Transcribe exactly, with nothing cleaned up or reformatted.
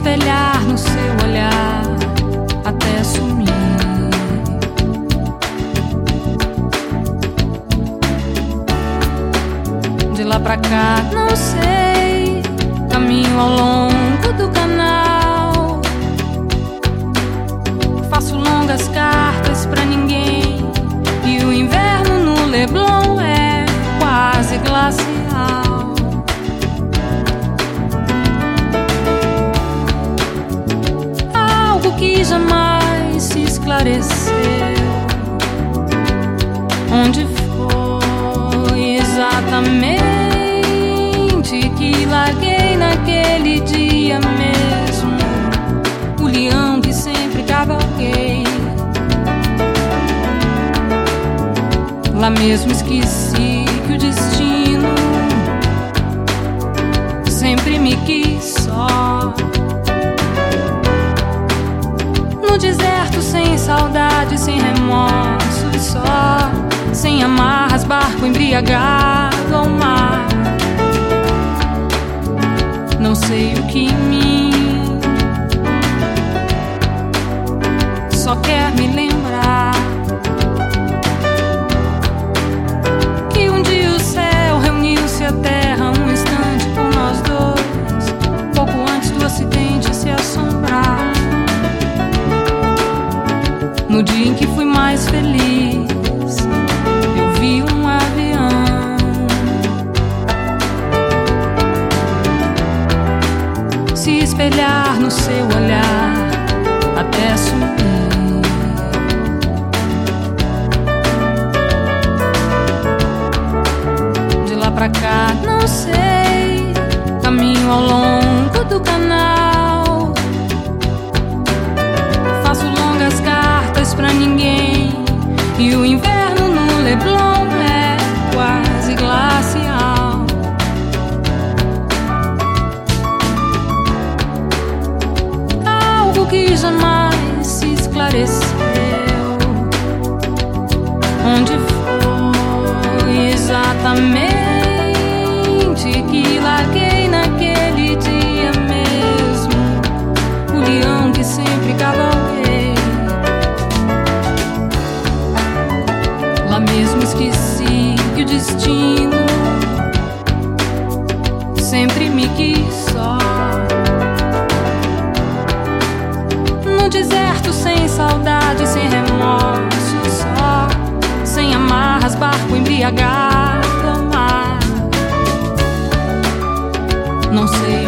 espelhar no seu olhar até sumir. De lá pra cá, não sei, caminho ao longo do canal. Faço longas cartas pra ninguém, e o inverno no Leblon é quase glacial. Algo que jamais se esclareceu. Onde foi exatamente que larguei naquele dia mesmo o leão que sempre cavalguei? Lá mesmo esqueci que o destino sempre me quis só. No deserto, sem saudade, sem remorso e só, sem amarras, barco embriagado ao mar. Não sei o que em mim só quer me lembrar que um dia o céu reuniu-se à terra um instante por nós dois, pouco antes do acidente se assombrar. No dia em que fui mais feliz, eu vi um avião. Se espelhar no seu olhar até sumir. De lá pra cá, não sei, caminho ao longo do canal. Faço longas cartas pra ninguém, e o inverno no Leblon é quase glacial. Algo que jamais se esclareceu. Onde foi exatamente que larguei naquele dia mesmo o leão que sempre cavalguei? Lá mesmo esqueci que o destino sempre me quis só. No deserto, sem saudade, sem remorso só, sem amarras, barco embriagado ao mar. Não sei